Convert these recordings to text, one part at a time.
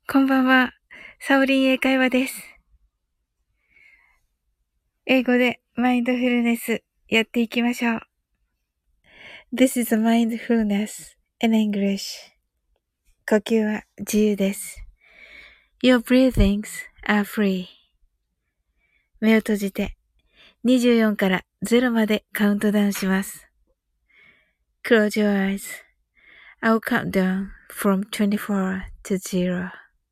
こんばんは。サオリン英会話です。英語でマインドフルネスやっていきましょう。This is a mindfulness in English. 呼吸は自由です。Your breathings are free. 目を閉じて24から0までカウントダウンします。Close your eyes. I'll count down from 24 to 0.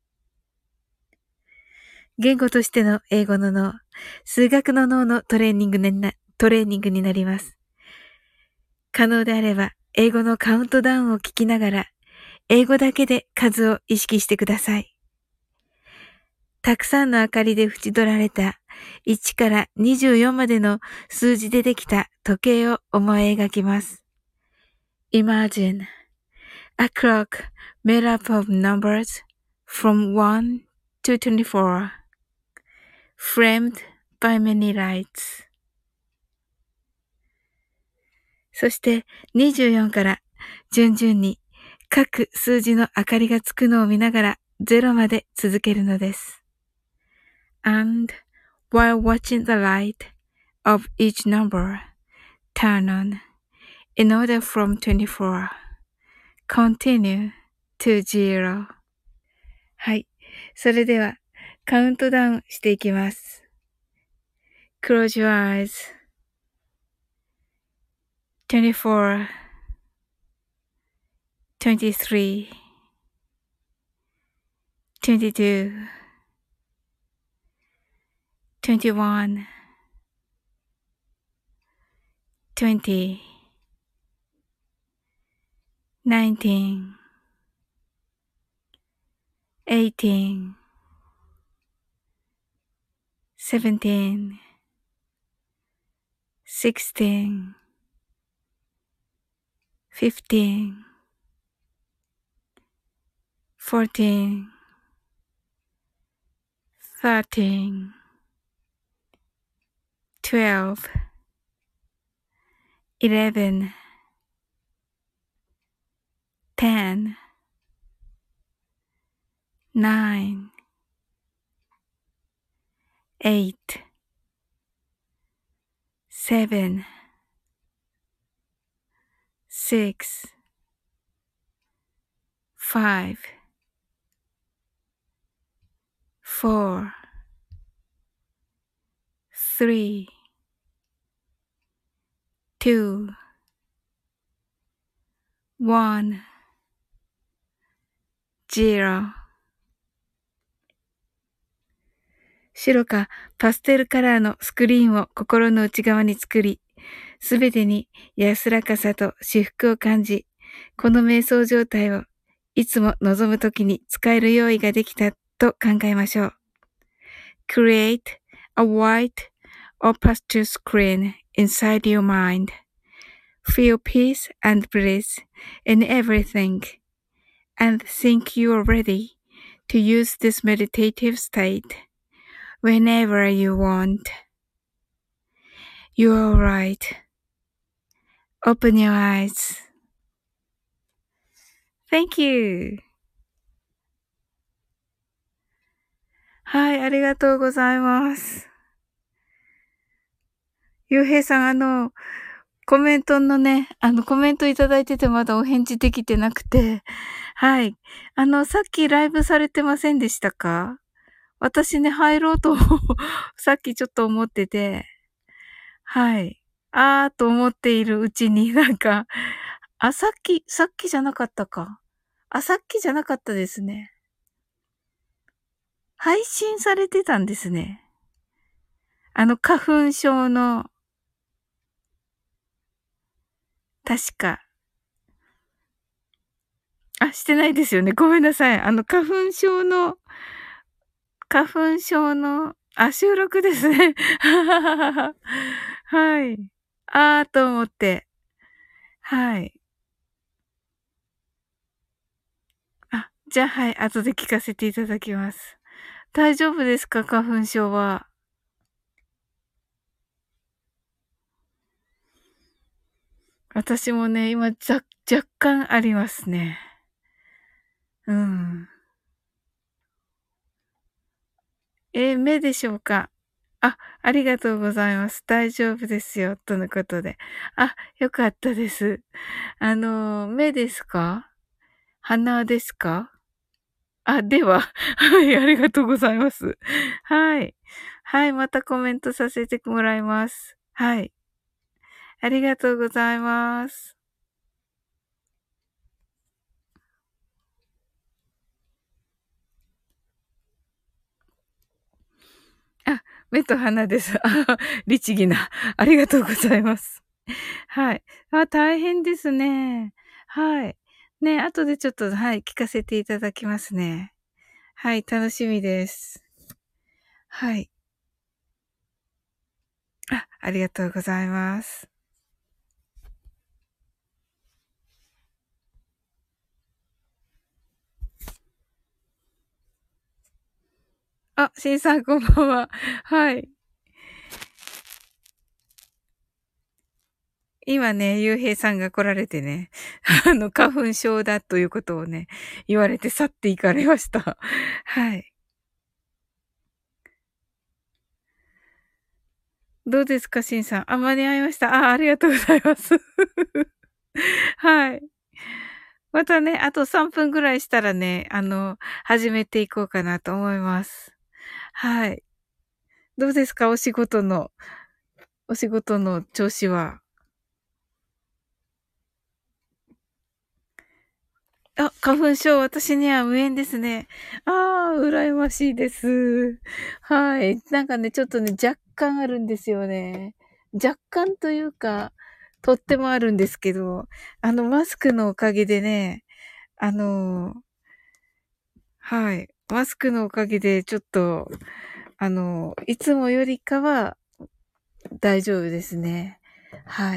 言語としての英語の脳、数学の脳のトレーニングになります。可能であれば、英語のカウントダウンを聞きながら、英語だけで数を意識してください。たくさんの明かりで縁取られた1から24までの数字でできた時計を思い描きます。Imagine a clock made up of numbers from 1 to 24, framed by many lights. そして24から順々に各数字の明かりがつくのを見ながら0まで続けるのです。And while watching the light of each number turn on in order from 24, continue to 0. はい。それではカウントダウンしていきます。Close your eyes. 24, 23, 22, 21, 20, 19, 18, 17, 16, 15, 14, 13, 12, 11, 10, 9, 8, 7, 6, 5, 4, 3, 2, 1, 0。白かパステルカラーのスクリーンを心の内側に作り、すべてに安らかさと至福を感じ、この瞑想状態をいつも望むときに使える用意ができたと考えましょう。Create a white or pastel screen inside your mind. Feel peace and bliss in everything and think you are ready to use this meditative state.Whenever you want. You're alright. Open your eyes. Thank you. はい、ありがとうございます。ゆうへいさん、コメントのね、コメントいただいててまだお返事できてなくて、はい。さっきライブされてませんでしたか？私ね、入ろうとさっきちょっと思ってて、はい。あーと思っているうちになんか、さっきじゃなかったか。さっきじゃなかったですね。配信されてたんですね。花粉症の、確か。してないですよね。ごめんなさい。花粉症の、収録ですね。はい。と思って。はい。じゃあはい。後で聞かせていただきます。大丈夫ですか？花粉症は。私もね、今、若干ありますね。うん。 目でしょうか？あ、ありがとうございます。大丈夫ですよ。とのことで。あ、よかったです。目ですか？鼻ですか？あ、では、はい、ありがとうございます。はい。はい、またコメントさせてもらいます。はい。ありがとうございます。あ、目と鼻です。あ、律儀な。ありがとうございます。はい。あ、大変ですね。はい。ね、後でちょっと、はい、聞かせていただきますね。はい、楽しみです。はい。あ、ありがとうございます。あ、しんさんこんばんは。はい。今ね、ゆうへいさんが来られてね、花粉症だということをね、言われて去っていかれました。はい。どうですか、しんさん。あ、間に合いました。あ、ありがとうございます。はい。またね、あと3分ぐらいしたらね、始めていこうかなと思います。はい。どうですか、お仕事の調子は。あ、花粉症、私には無縁ですね。ああ、羨ましいです。はい。なんかね、ちょっとね、若干あるんですよね。若干というか、とってもあるんですけど、マスクのおかげでね、あの、はい。マスクのおかげで、ちょっと、いつもよりかは大丈夫ですね。はい。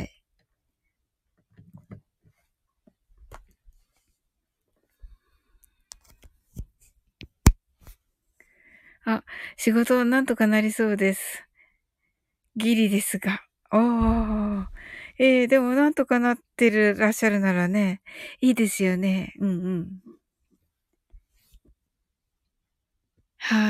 あ、仕事はなんとかなりそうです。ギリですが。おー。でもなんとかなってらっしゃるならね、いいですよね。うんうん。はい。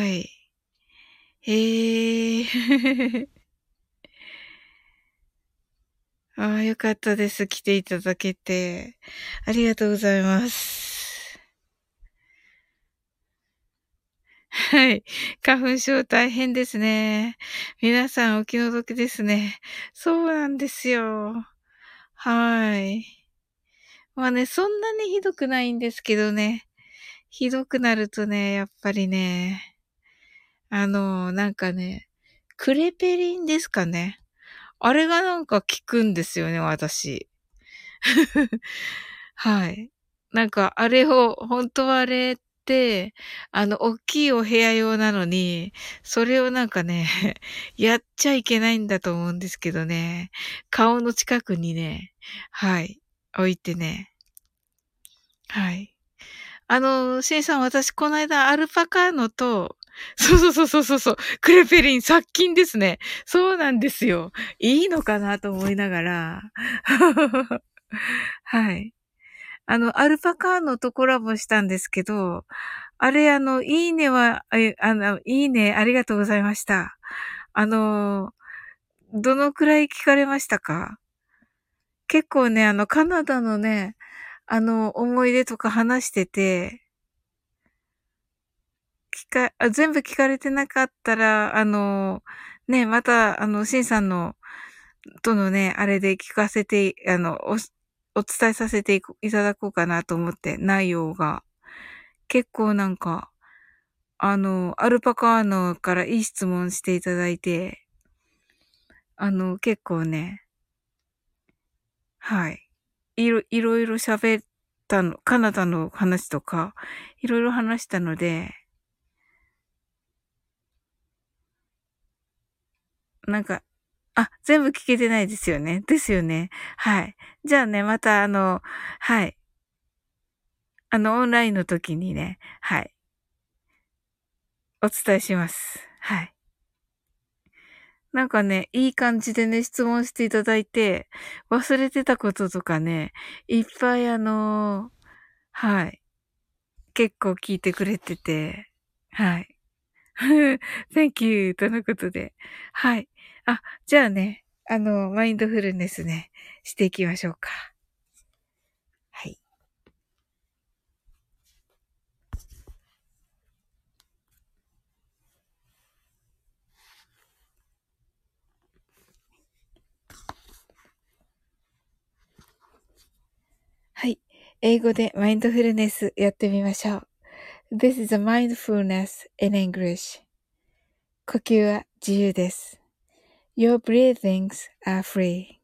ああ、よかったです。来ていただけて。ありがとうございます。はい。花粉症大変ですね。皆さんお気の毒ですね。そうなんですよ。はい。まあね、そんなにひどくないんですけどね。ひどくなるとね、やっぱりね、なんかね、クレペリンですかね。あれがなんか効くんですよね、私。はい。なんかあれを、本当はあれって、大きいお部屋用なのに、それをなんかね、やっちゃいけないんだと思うんですけどね。顔の近くにね、はい、置いてね。はい。シンさん、私、この間、アルパカーノと、そう、クレペリン、殺菌ですね。そうなんですよ。いいのかなと思いながら。はい。アルパカーノとコラボしたんですけど、あれ、いいねは、いいね、ありがとうございました。あの、どのくらい聞かれましたか？結構ね、カナダのね、思い出とか話してて、全部聞かれてなかったら、ね、また、シンさんとのね、あれで聞かせて、お伝えさせていただこうかなと思って、内容が。結構なんか、アルパカーノからいい質問していただいて、結構ね、はい。いろいろ喋ったの、カナダの話とか、いろいろ話したので、なんか、全部聞けてないですよね。ですよね。はい。じゃあね、またはい。オンラインの時にね、はい。お伝えします。はい。なんかね、いい感じでね、質問していただいて、忘れてたこととかね、いっぱいはい。結構聞いてくれてて、はい。 Thank you とのことで。はい。あ、じゃあね、マインドフルネスね、していきましょうか。はい。はい。英語でマインドフルネスやってみましょう。This is a mindfulness in English. 呼吸は自由です。Your breathings are free.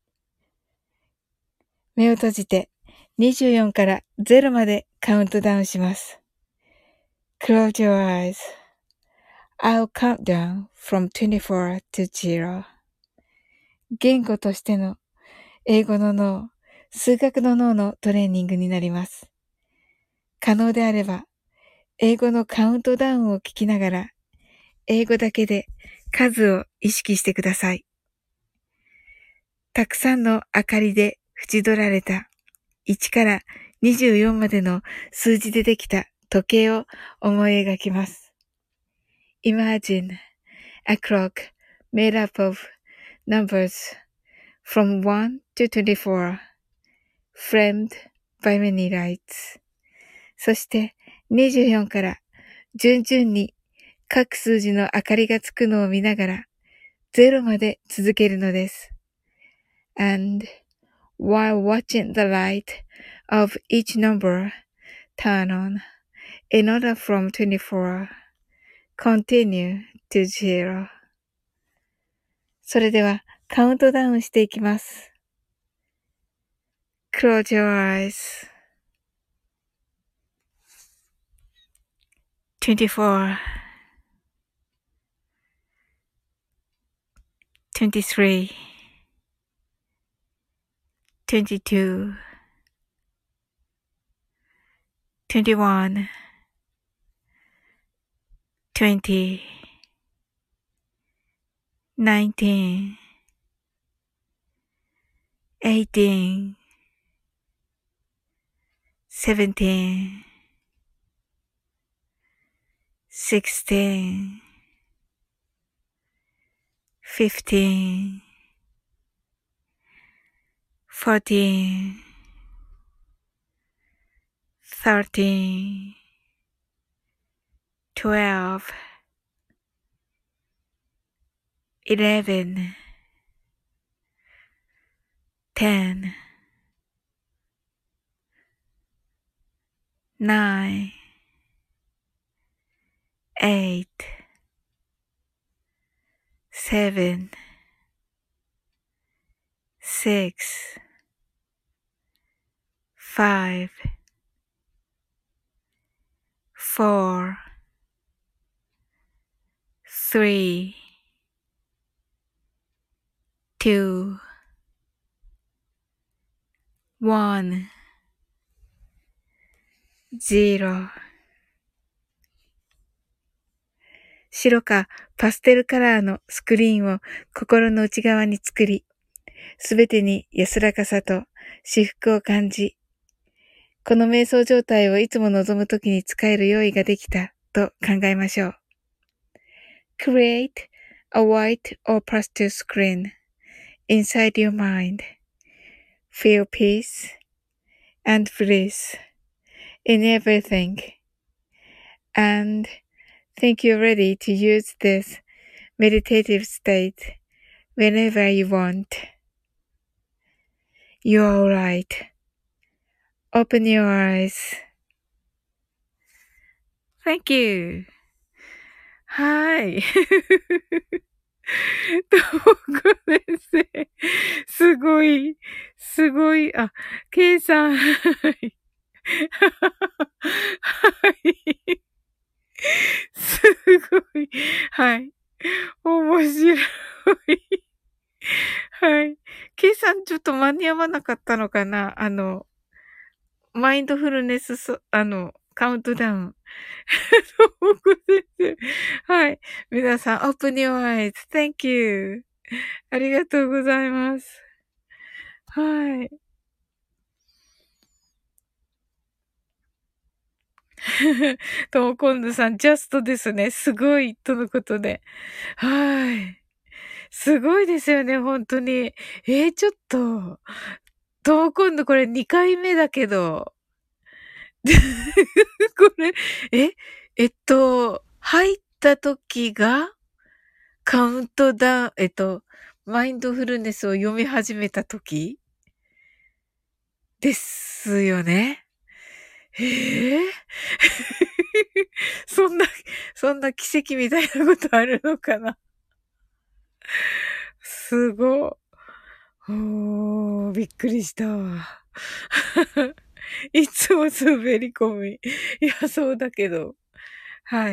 目を閉じて24から0までカウントダウンします。Close your eyes.I'll count down from 24 to 0. 言語としての英語の脳、数学の脳のトレーニングになります。可能であれば、英語のカウントダウンを聞きながら、英語だけで数を意識してください。たくさんの明かりで縁取られた1から24までの数字でできた時計を思い描きます。Imagine a clock made up of numbers from 1 to 24, framed by many lights. そして24から順々に各数字の明かりがつくのを見ながら0まで続けるのです。And while watching the light of each number turn on, in order from 24, continue to 0. それではカウントダウンしていきます。Close your eyes. 24, 23, 22, 21, 20, 19, 18, 17, 16, 15, 14, 13, 12, 11, 10, 9, 8, 7, 6, 5, 4, 3, 2, 1, 0白かパステルカラーのスクリーンを心の内側に作り、すべてに安らかさと至福を感じ、この瞑想状態をいつも望むときに使える用意ができたと考えましょう。Create a white or pastel screen inside your mind. Feel peace and bliss in everything. And think you're ready to use this meditative state whenever you want. You're alright. Open your eyes. Thank you. はい。どこですね。すごい、すごい、あ、ケイさん、はい。はい。すごい。はい。面白い。はい。ケイさんちょっと間に合わなかったのかなマインドフルネスカウントダウン。僕です。はい。皆さん、open your eyes.Thank you. ありがとうございます。はい。 ともこんぬさん、ジャストですね。すごい、とのことで。はい。すごいですよね、本当に。ちょっと、ともこんぬこれ2回目だけど、これ、え、入った時が、カウントダウン、マインドフルネスを読み始めた時ですよね。ええそんな、そんな奇跡みたいなことあるのかな。すごい。びっくりしたわ。いつも滑り込み。いや、そうだけど。はい。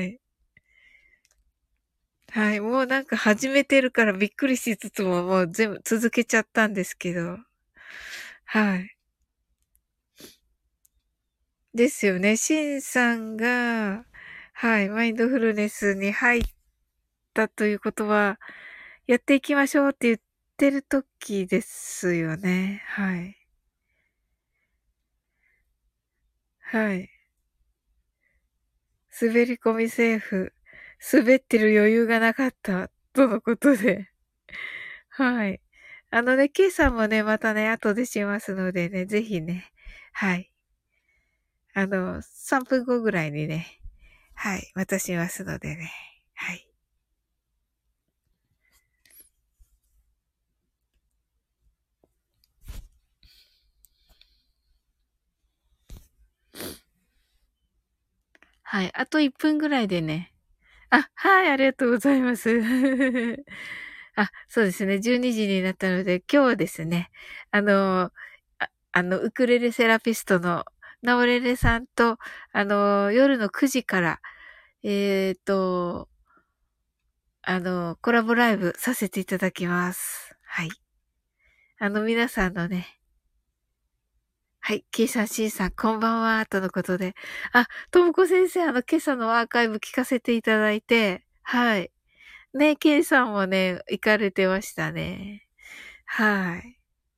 はい。もうなんか始めてるからびっくりしつつももう全部続けちゃったんですけど。はい。ですよね。シンさんが、はい、マインドフルネスに入ったということは、やっていきましょうって言ってる時ですよね。はい。はい。滑り込みセーフ。滑ってる余裕がなかった。とのことで。はい。ケイさんもね、またね、後でしますのでね、ぜひね。はい。3分後ぐらいにね、はい、またしますのでね。はい。はい。あと1分ぐらいでね。あ、はい、ありがとうございます。あ、そうですね。12時になったので、今日はですね、ウクレレセラピストのナオレレさんと、夜の9時から、えっと、コラボライブさせていただきます。はい。皆さんのね、はい、ケイさん、シンさん、こんばんは、とのことで。あ、ともこ先生、今朝のアーカイブ聞かせていただいて、はい。ね、ケイさんもね、行かれてましたね。はい。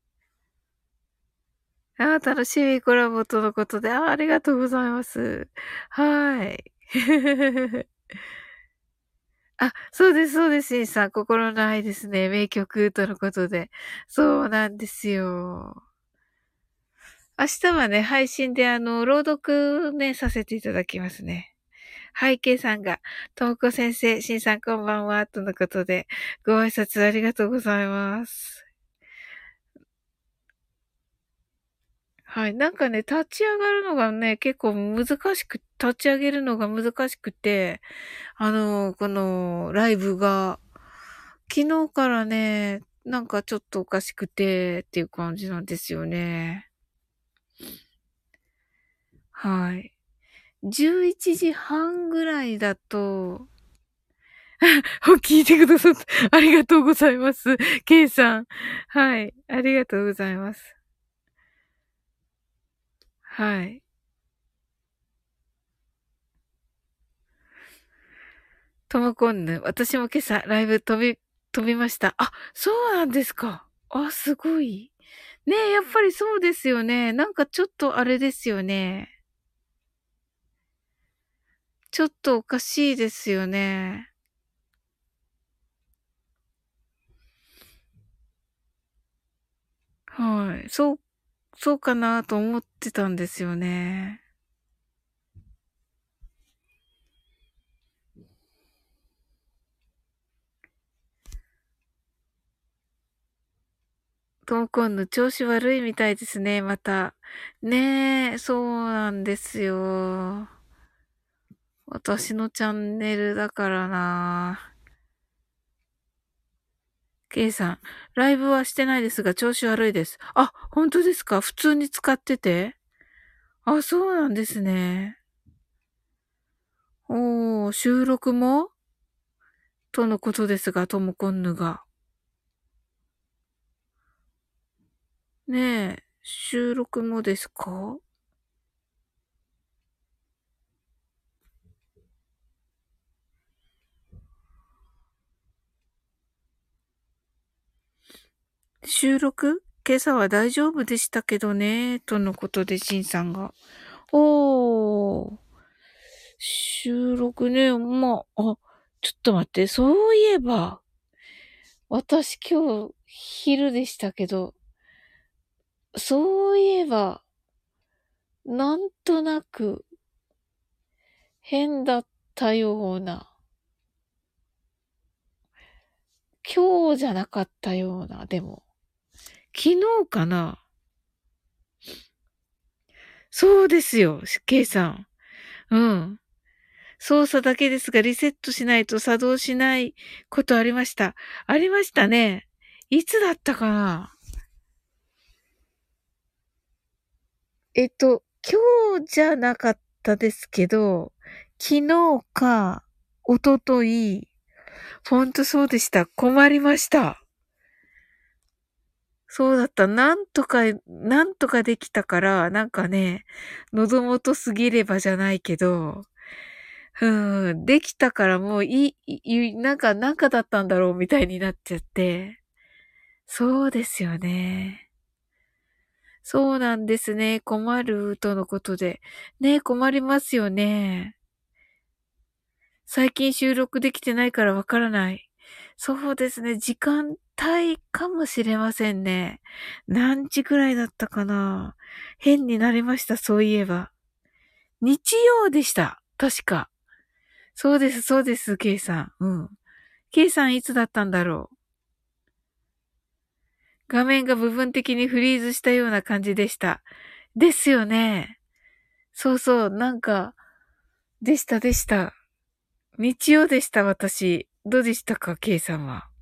楽しみコラボとのことで、ありがとうございます。はい。そうです、そうです、シンさん。心の愛ですね。名曲とのことで。そうなんですよ。明日はね、配信で朗読ね、させていただきますね。はい、ケイさんが、ともこ先生、シンさんこんばんは、とのことで、ご挨拶ありがとうございます。はい。なんかね、立ち上がるのがね、結構難しく、立ち上げるのが難しくて、このライブが、昨日からね、なんかちょっとおかしくてっていう感じなんですよね。はい。11時半ぐらいだと、聞いてくださって、ありがとうございます。ケイさん。はい。ありがとうございます。はい。ともこんぬ。私も今朝ライブ飛びました。あ、そうなんですか。あ、すごい。ねえ、やっぱりそうですよね。なんかちょっとあれですよね。ちょっとおかしいですよね。はい。そうかなと思ってたんですよね。ともこんぬ調子悪いみたいですね、また。ねえ、そうなんですよ。私のチャンネルだからな。ケイさん、ライブはしてないですが、調子悪いです。あ、本当ですか？普通に使ってて？あ、そうなんですね。おー、収録もとのことですが、ともこんぬが。ねえ、収録もですか？収録今朝は大丈夫でしたけどね、とのことで、しんさんが。おー。 収録ね、ちょっと待って、そういえば、私今日昼でしたけど、そういえば、なんとなく変だったような、今日じゃなかったような、でも、昨日かな。そうですよ、K さん。うん。操作だけですが、リセットしないと作動しないことありました。ありましたね。いつだったかな。今日じゃなかったですけど、昨日か、一昨日ほんとそうでした。困りました。そうだった。なんとかできたから、なんかね、喉元すぎればじゃないけど、できたからもうなんかだったんだろうみたいになっちゃって。そうですよね。そうなんですね。困るとのことで。ね、困りますよね。最近収録できてないからわからない。そうですね。時間帯かもしれませんね。何時ぐらいだったかな。変になりました、そういえば。日曜でした。確か。そうです、そうです、K さん。うん。K さんいつだったんだろう。画面が部分的にフリーズしたような感じでした。ですよね。そうそう、なんか、でした、でした。日曜でした、私。どうでしたか、K さんは。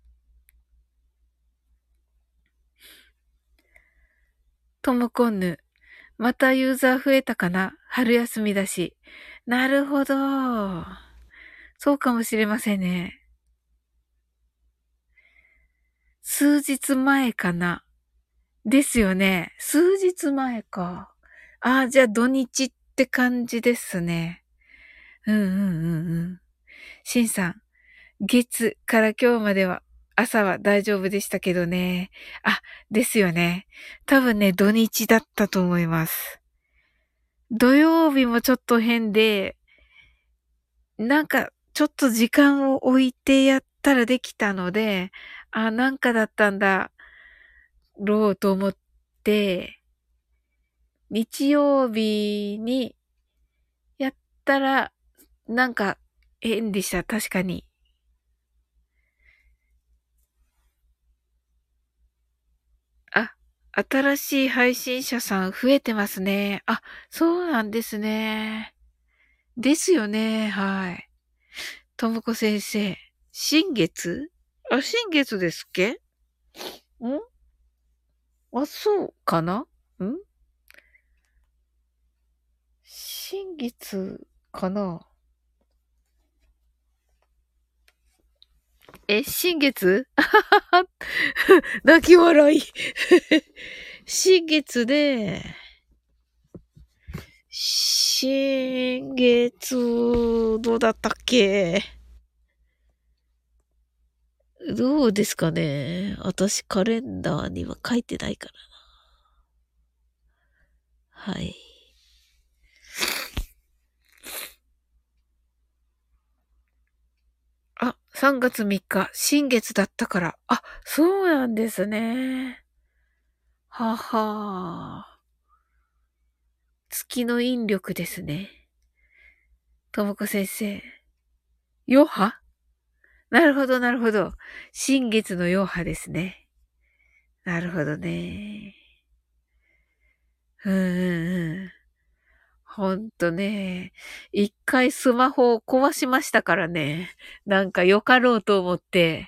ともこんぬ。またユーザー増えたかな、春休みだし。なるほど。そうかもしれませんね。数日前かな。ですよね。数日前か。ああ、じゃあ土日って感じですね。うんうんうんうん。しんさん、月から今日までは朝は大丈夫でしたけどね。あ、ですよね。多分ね、土日だったと思います。土曜日もちょっと変で、なんか、ちょっと時間を置いてやったらできたので、あ、なんかだったんだろうと思って、日曜日にやったら、なんか変でした。確かに。あ、新しい配信者さん増えてますね。あ、そうなんですね。ですよね。はい。ともこ先生。新月。あ、新月ですっけ。んあ、そうかなん新月かな。新月。泣き笑い。新月で、新月、どうだったっけ。どうですかね。私カレンダーには書いてないからな。はい。あ、3月3日、新月だったから。あ、そうなんですね。はは月の引力ですね。ともこ先生。余波。なるほど、なるほど。新月の余波ですね。なるほどね。うんうんうん。ほんとね。一回スマホを壊しましたからね。なんかよかろうと思って、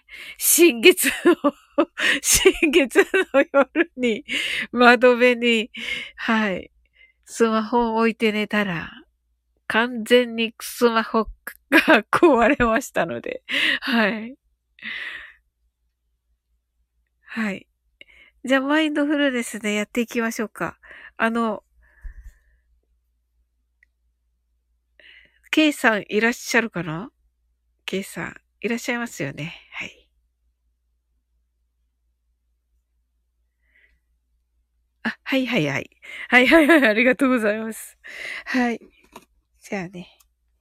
新月の新月の夜に、窓辺に、はい、スマホを置いて寝たら、完全にスマホが壊れましたので、はい。はい。じゃあ、マインドフルネスでやっていきましょうか。あの、K さんいらっしゃるかな？ K さん、いらっしゃいますよね。はい。あ、はいはいはい。はいはいはい、ありがとうございます。はい。じゃあね。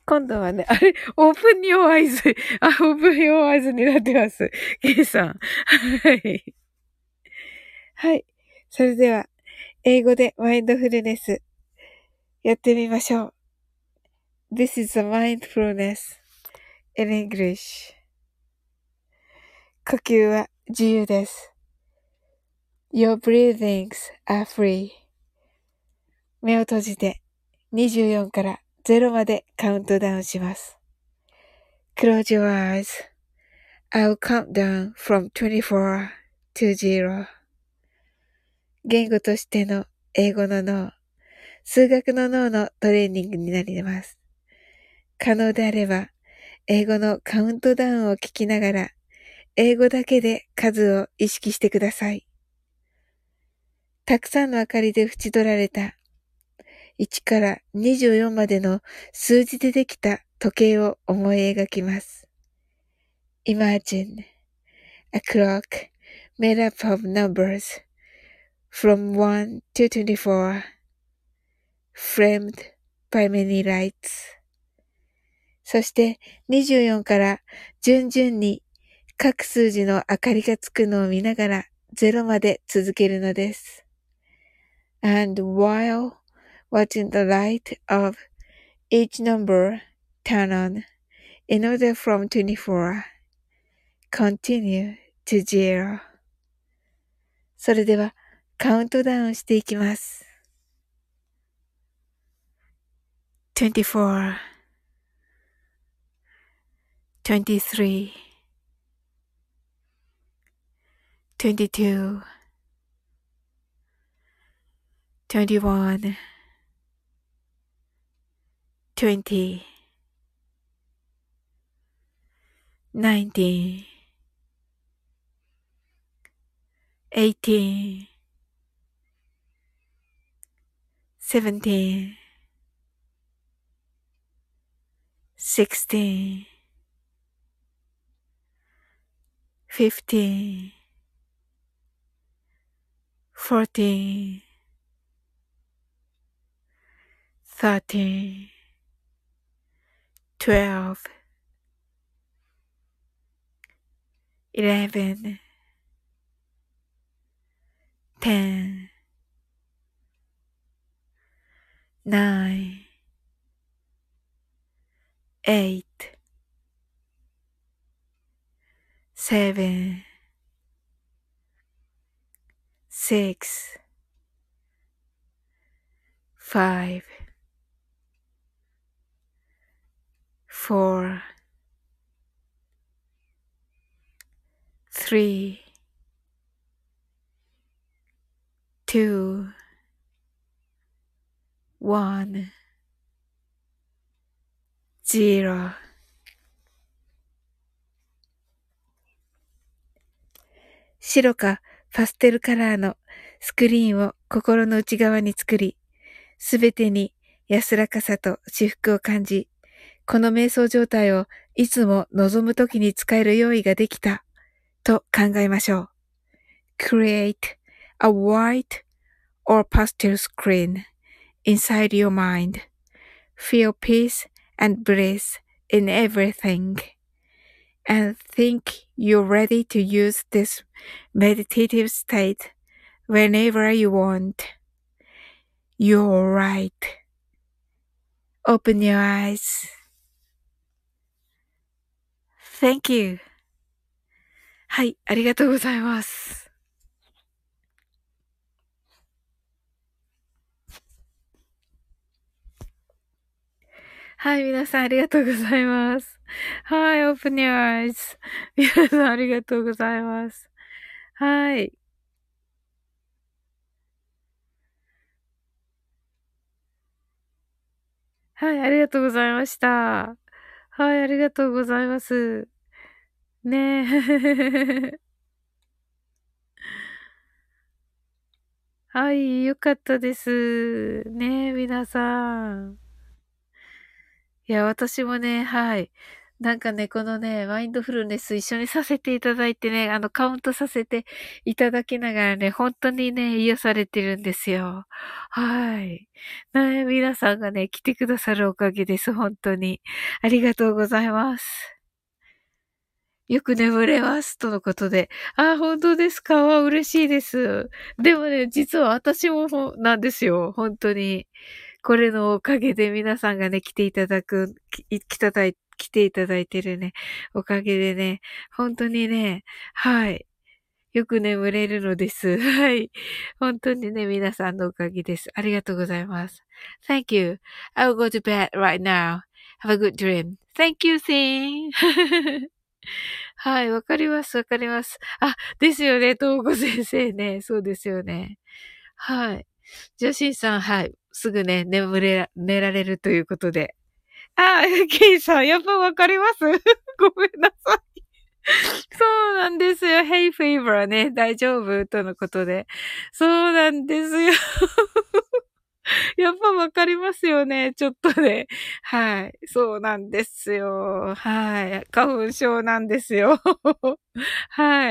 今度はね、あれ、オープンヨーアイズ。あ、オープンヨーアイズになってます。ケイさん。はい。はい。それでは、英語でマインドフルネスやってみましょう。This is a mindfulness in English. 呼吸は自由です。Your breathings are free. 目を閉じて24から0までカウントダウンします。Close your eyes. I'll count down from 24 to 0. 言語としての英語の脳、数学の脳のトレーニングになります。可能であれば、英語のカウントダウンを聞きながら、英語だけで数を意識してください。たくさんの明かりで縁取られた1から24までの数字でできた時計を思い描きます。Imagine a clock made up of numbers from 1 to 24, framed by many lights. そして24から順々に各数字の明かりがつくのを見ながら0まで続けるのです。And while watching the light of each number turn on in order from 24, continue to 0. それではカウントダウンしていきます。24, 23, 22, 21, 20, 19, 18, 17, 16, 15, 14, 13, 12, 11, 10, 9, 8, 7, 6, 5, 4, 3, 2, 1, 0。白かパステルカラーのスクリーンを心の内側に作り、すべてに安らかさと至福を感じ、この瞑想状態をいつも望むときに使える用意ができたと考えましょう。Create a white or pastel screen inside your mind. Feel peace and bliss in everything. And think you're ready to use this meditative state whenever you want. You're right. Open your eyes. Thank you. はい、ありがとうございます。はい、皆さんありがとうございます。はい、Open your eyes. 皆さんありがとうございます。はい。はい、ありがとうございました。はい、ありがとうございます。ねえ。はい、よかったです。ねえ、皆さん。いや、私もね、はい。 なんかね、このね、マインドフルネス一緒にさせていただいてね、カウントさせていただきながらね、本当にね、癒されてるんですよ。はい。ね、皆さんがね、来てくださるおかげです。本当に。ありがとうございます。よく眠れます。とのことで。あ、本当ですか？わ、嬉しいです。でもね、実は私もなんですよ。本当に。これのおかげで皆さんがね、来ていただく、来ていただいてるね、おかげでね、本当にね、はい。よく眠れるのです。はい。本当にね、皆さんのおかげです。ありがとうございます。Thank you. I'll go to bed right now. Have a good dream. Thank you, Sin. はい、わかります、わかります。あ、ですよね、東子先生ね。そうですよね。はい。じゃあ、しんさん、はい。すぐね、寝られるということで。あ、ケイさん、やっぱわかりますごめんなさい。そうなんですよ。Hey favor ね、大丈夫とのことで。そうなんですよ。やっぱわかりますよね。ちょっとね。はい。そうなんですよ。はい。花粉症なんですよ。はい。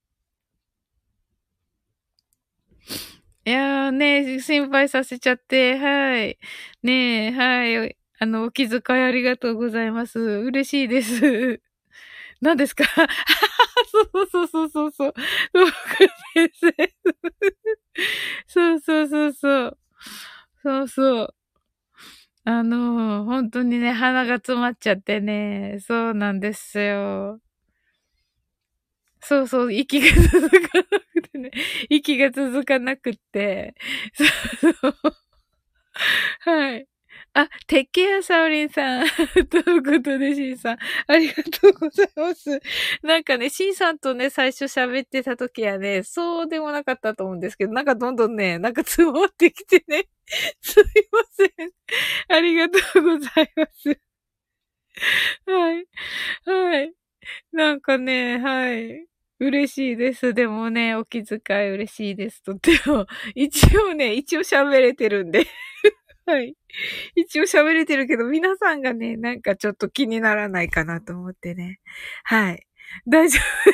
いやーね、心配させちゃって、はい。ねえ、はい。お気遣いありがとうございます。嬉しいです。何ですか？そうそうそうそうそう。そう先生。そうそうそうそう。そうそう。本当にね、鼻が詰まっちゃってね。そうなんですよ。そうそう、息が続かなくてね。息が続かなくって。そうそう。はい。あ、てっけやさおりんさん。ということで、しんさん。ありがとうございます。なんかね、しんさんとね、最初喋ってた時はね、そうでもなかったと思うんですけど、なんかどんどんね、なんか積もってきてね。すいません。ありがとうございます。はい。はい。なんかね、はい。嬉しいです。でもね、お気遣い嬉しいです。とっても。一応喋れてるんで。はい。一応喋れてるけど、皆さんがね、なんかちょっと気にならないかなと思ってね。はい。大丈夫、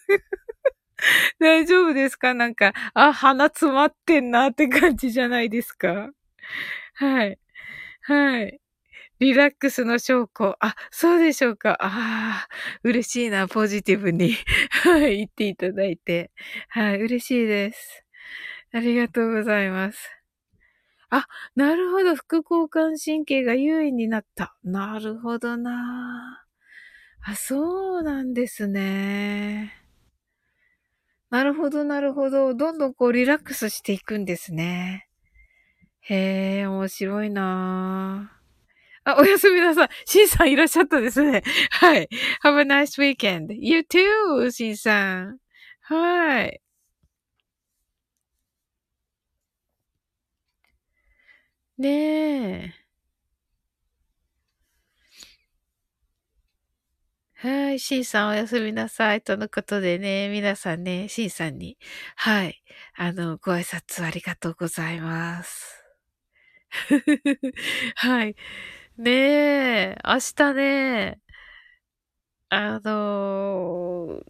大丈夫ですか？なんか、あ、鼻詰まってんなって感じじゃないですか？はい。はい。リラックスの証拠。あ、そうでしょうか。ああ、嬉しいな、ポジティブに。はい、言っていただいて。はい、嬉しいです。ありがとうございます。あ、なるほど。副交感神経が優位になった。なるほどな。あ、そうなんですね。なるほど、なるほど。どんどんこうリラックスしていくんですね。へえ、面白いな。あ、おやすみなさい。シンさんいらっしゃったですね。はい。Have a nice weekend. You too, シンさん。はい。ねえ。はい。シンさんおやすみなさい。とのことでね、皆さんね、シンさんに、はい。ご挨拶ありがとうございます。はい。ねえ、明日ね、あの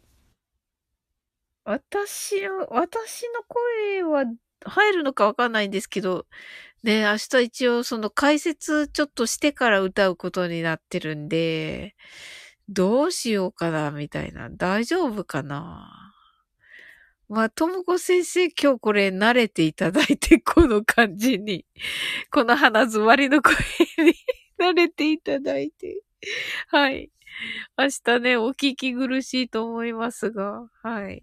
私の声は入るのかわかんないんですけど、ね、明日一応その解説ちょっとしてから歌うことになってるんで、どうしようかな、みたいな。大丈夫かな。まあ、ともこ先生今日これ慣れていただいて、この感じに、この鼻詰まりの声に慣れていただいて。はい。明日ね、お聞き苦しいと思いますが、はい。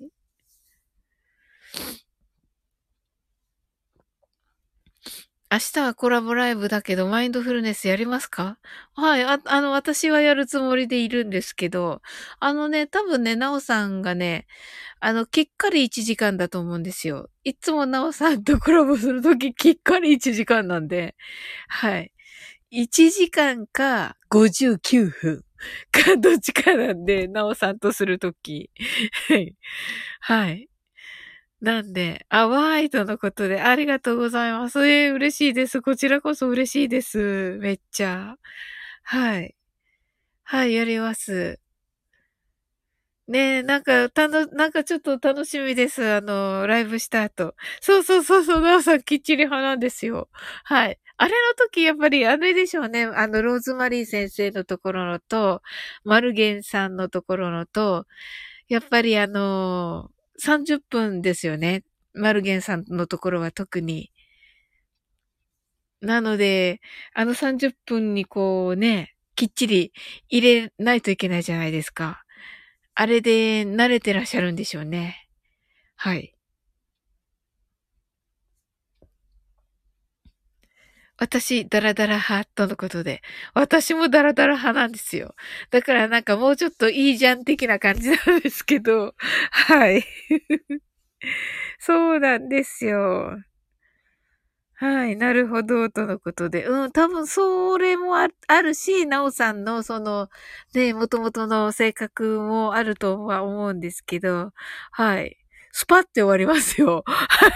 明日はコラボライブだけど、マインドフルネスやりますか？はい。私はやるつもりでいるんですけど、多分ね、なおさんがね、きっかり1時間だと思うんですよ。いつもなおさんとコラボするとき、きっかり1時間なんで、はい。1時間か59分かどっちかなんで、なおさんとするとき。はい。はい。なんで、ワイドのことでありがとうございます。嬉しいです。こちらこそ嬉しいです。めっちゃ。はい。 はい、やります。ねえ、なんかちょっと楽しみです。ライブした後。そうそうそうそう、なおさんきっちり派なんですよ。はい。あれの時、やっぱりあれでしょうね。ローズマリー先生のところのと、マルゲンさんのところのと、やっぱり30分ですよね。マルゲンさんのところは特に。なので、あの30分にこうね、きっちり入れないといけないじゃないですか。あれで慣れてらっしゃるんでしょうね。はい。私、ダラダラ派とのことで。私もダラダラ派なんですよ。だからなんかもうちょっといいじゃん的な感じなんですけど。はい。そうなんですよ。はい、なるほど、とのことで。うん、多分それもあるし、なおさんのその、ね、もともとの性格もあるとは思うんですけど、はい。スパって終わりますよ。はい。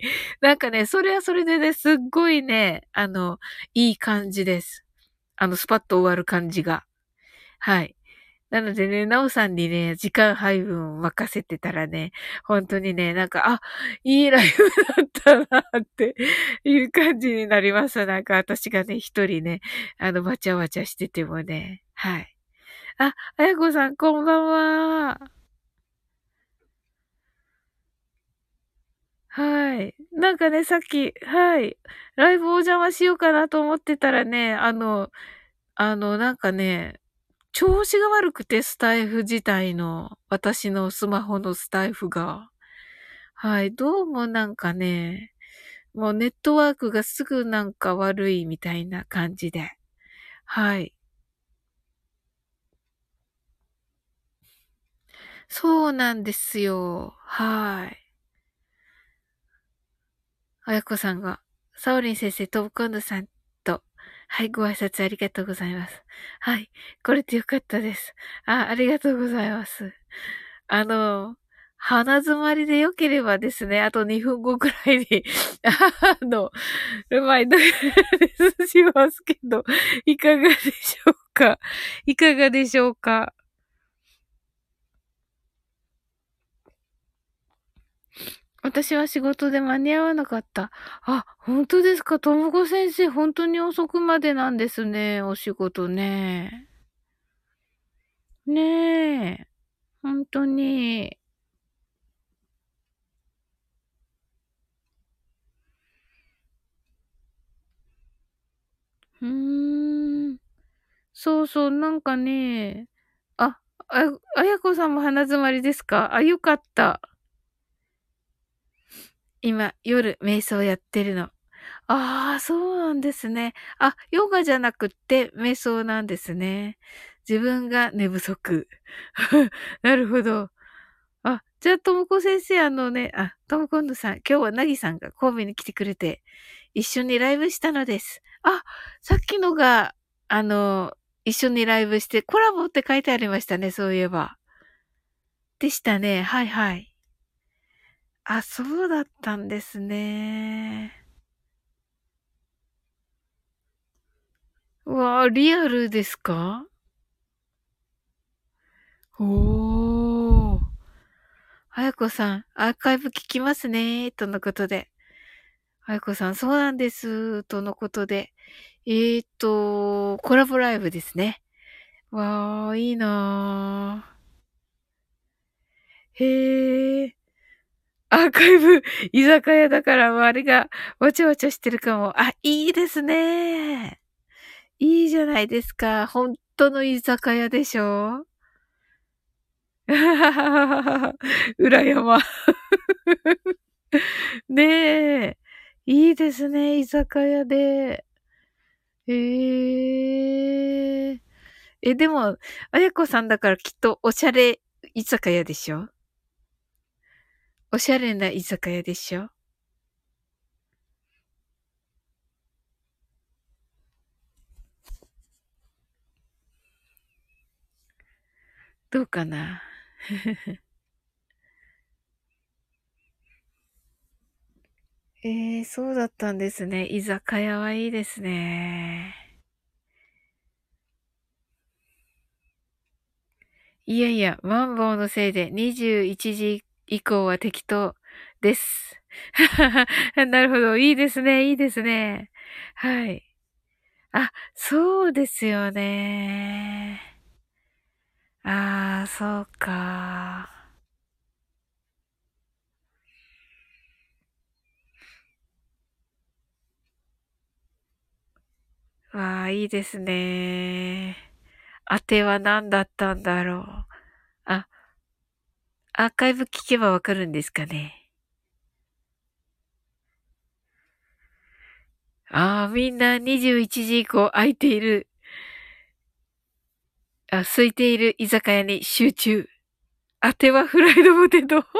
なんかね、それはそれでね、すっごいね、いい感じです。スパッと終わる感じが。はい。なのでね、なおさんにね、時間配分を任せてたらね、本当にね、なんか、あ、いいライブだったなっていう感じになります。なんか私がね、一人ね、わちゃわちゃしててもね。はい。あ、あやこさん、こんばんは。はい。なんかね、さっき、はい。ライブお邪魔しようかなと思ってたらね、なんかね、調子が悪くて、スタイフ自体の、私のスマホのスタイフが。はい、どうもなんかね、もうネットワークがすぐなんか悪いみたいな感じで。はい。そうなんですよ。はい。あやこさんが、サオリン先生、トブコンヌさんと、はい、ご挨拶ありがとうございます。はい、これでよかったです。ありがとうございます。あの、鼻詰まりで良ければですね、あと2分後くらいに、うまいのしますけど、いかがでしょうか？いかがでしょうか？私は仕事で間に合わなかった。あ、本当ですか？ともこ先生、本当に遅くまでなんですね、お仕事ね。ねえ、本当に。うーん。そうそう、なんかね、あ、あやこさんも鼻詰まりですか？あ、よかった。今、夜、瞑想やってるの。ああ、そうなんですね。あ、ヨガじゃなくって瞑想なんですね。自分が寝不足。なるほど。あ、じゃあ、ともこ先生、ともこんぬさん、今日はなぎさんが神戸に来てくれて、一緒にライブしたのです。あ、さっきのが、あの、一緒にライブして、コラボって書いてありましたね、そういえば。でしたね。はいはい。あ、そうだったんですね。うわあ、リアルですか？おー。はやこさん、アーカイブ聞きますね、とのことで。はやこさん、そうなんです、とのことで。コラボライブですね。わー、いいなー。へー。アーカイブ、居酒屋だから周りがわちゃわちゃしてるかも。あ、いいですね。いいじゃないですか。本当の居酒屋でしょ？裏山。ねえ。いいですね、居酒屋で。へえ。でも、あやこさんだからきっとおしゃれ居酒屋でしょ？おしゃれな居酒屋でしょ？どうかな？そうだったんですね。居酒屋はいいですね。 いやいや、マンボウのせいで21時以降は適当です。なるほど。いいですね。いいですね。はい。あ、そうですよね。ああ、そうか。わあ、いいですね。当ては何だったんだろう。あ、アーカイブ聞けばわかるんですかね。ああ、みんな21時以降空いている。空いている居酒屋に集中。当てはフライドポテト。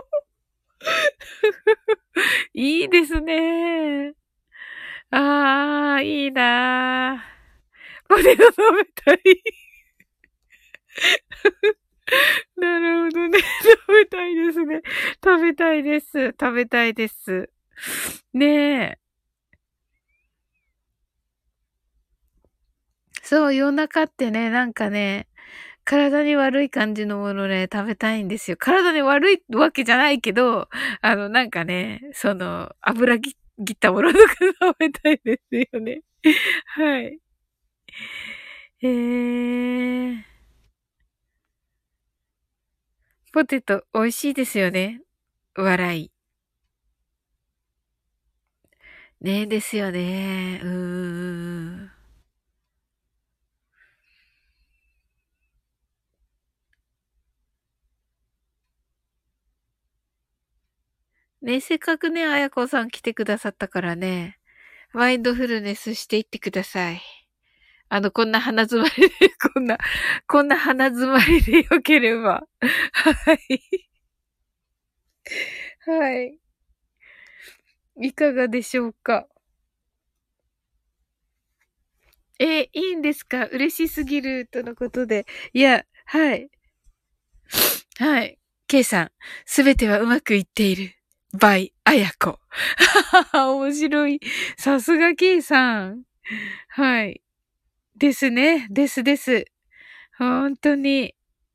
いいですね。ああ、いいなー。ポテト食べたい。なるほどね。食べたいですね。食べたいです。食べたいです。ねえ。そう、夜中ってね、なんかね、体に悪い感じのものね、食べたいんですよ。体に悪いわけじゃないけど、なんかね、油切ったものとか食べたいですよね。はい。えー、ポテト美味しいですよね。笑い。ねですよね。ん。ね、せっかくね、あやこさん来てくださったからね、マインドフルネスしていってください。こんな鼻詰まりで、こんな鼻詰まりでよければ。はい。はい。いかがでしょうか。いいんですか？嬉しすぎる、とのことで。いや、はい。はい。K さん、すべてはうまくいっている。by あやこ。面白い。さすが K さん。はい。ですね。ですです。本当に。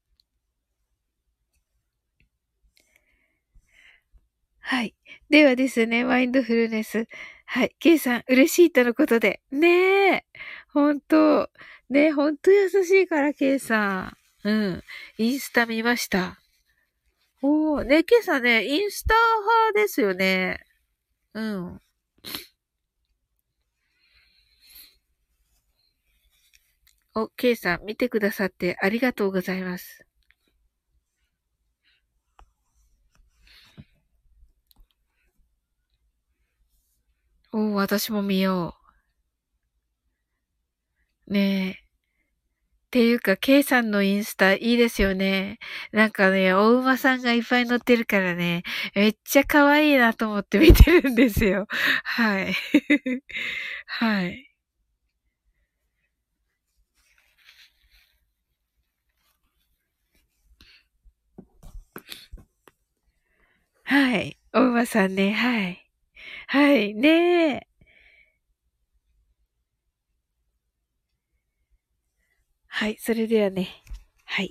はい。ではですね、マインドフルネス。はい。K さん、嬉しいとのことで。ねえ。本当ねえ、本当優しいから、K さん。うん。インスタ見ました。おー、ね、K さんね、インスタ派ですよね。うん。K さん、見てくださってありがとうございます。私も見よう。ねえ。っていうか、K さんのインスタいいですよね。なんかね、お馬さんがいっぱい乗ってるからね、めっちゃ可愛いなと思って見てるんですよ。はい。はい。はい。お馬さんね、はい。はい。ねえ。はい。それではね。はい。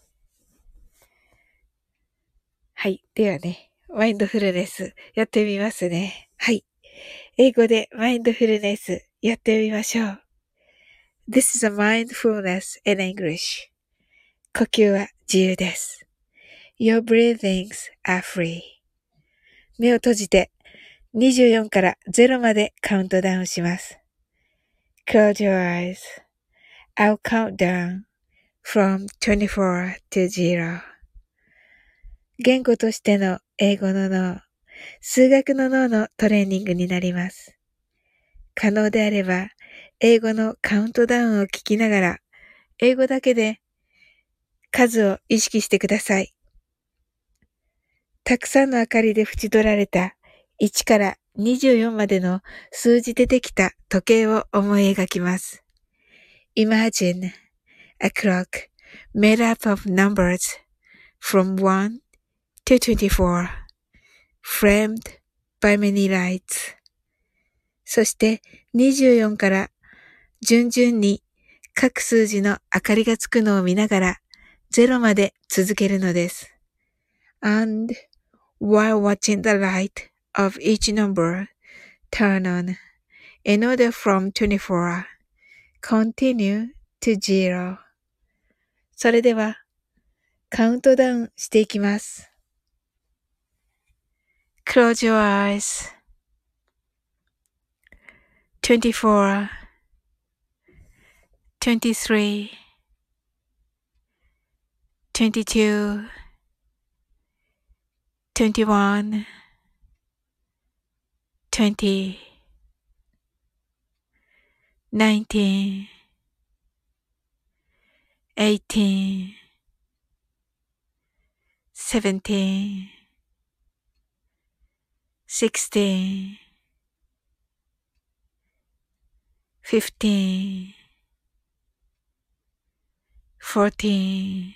はい。ではね、マインドフルネスやってみますね。はい。英語でマインドフルネスやってみましょう。This is a mindfulness in English. 呼吸は自由です。Your breathings are free. 目を閉じて24から0までカウントダウンします。Close your eyes.I'll count down from 24 to 0. 言語としての英語の脳、数学の脳のトレーニングになります。可能であれば、英語のカウントダウンを聞きながら、英語だけで数を意識してください。たくさんの明かりで縁取られた1から24までの数字でできた時計を思い描きます。Imagine a clock made up of numbers from 1 to 24, framed by many lights. そして24から順々に各数字の明かりがつくのを見ながら 0まで続けるのです。And while watching the light of each number turn on, in order from 24, continue to 0. それでは、カウントダウンしていきます。Close your eyes. 24, 23, 22, 21, 20, 19, 18, 17, 16, 15, 14,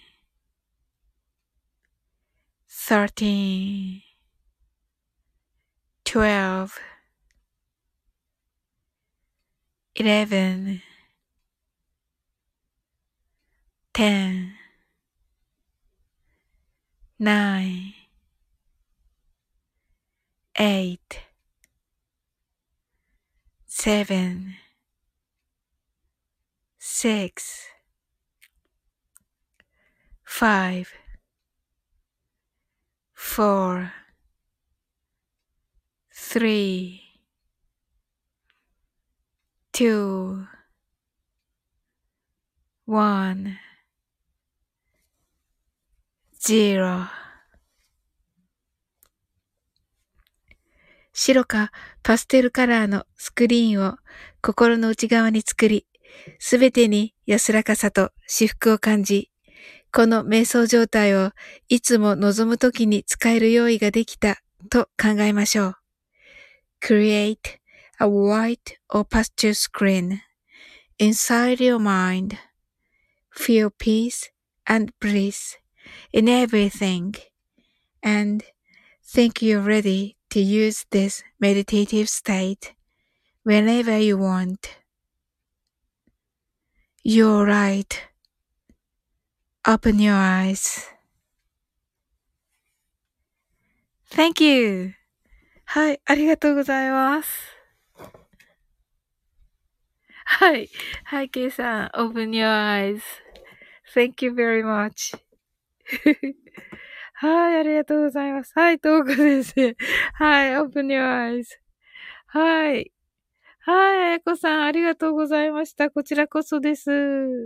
13, 12, 11, 10, 9, 8, 7, 6, 5, 4, 3, 2, 1, 0。白かパステルカラーのスクリーンを心の内側に作り、すべてに安らかさと至福を感じ、この瞑想状態をいつも望むときに使える用意ができたと考えましょう。Create a white or pastel screen inside your mind. Feel peace and bliss in everything and think you're ready to use this meditative state whenever you want. You're right. Open your eyes. Thank you. はい、ありがとうございます。はい。はい、ケイさん、open your eyes.Thank you very much. はい、ありがとうございます。はい、トーク先生。はい、open your eyes. はい。はい、あやこさん、ありがとうございました。こちらこそです。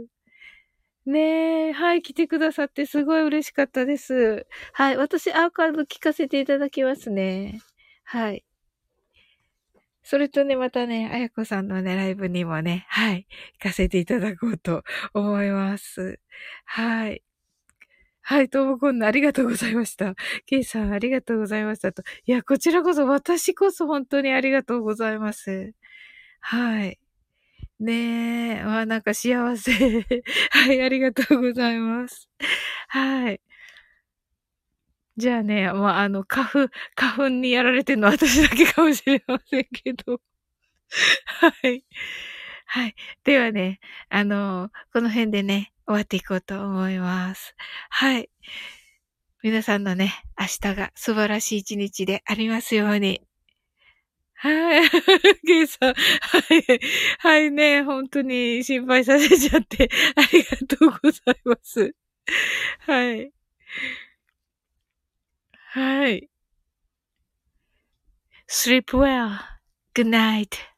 ねえ、はい、来てくださってすごい嬉しかったです。はい、私アーカイブ聞かせていただきますね。はい。それとね、またね、あやこさんのね、ライブにもね、はい、行かせていただこうと思います。はい。はい、ともこんなありがとうございました。ケイさんありがとうございましたと。いや、こちらこそ私こそ本当にありがとうございます。はい。ねえ、なんか幸せ。はい、ありがとうございます。はい。じゃあね、花粉にやられてるのは私だけかもしれませんけど。はい。はい。ではね、この辺でね、終わっていこうと思います。はい。皆さんのね、明日が素晴らしい一日でありますように。はい。ゲイさん。はい。はいね。本当に心配させちゃって、ありがとうございます。はい。はい。sleep well. Good night.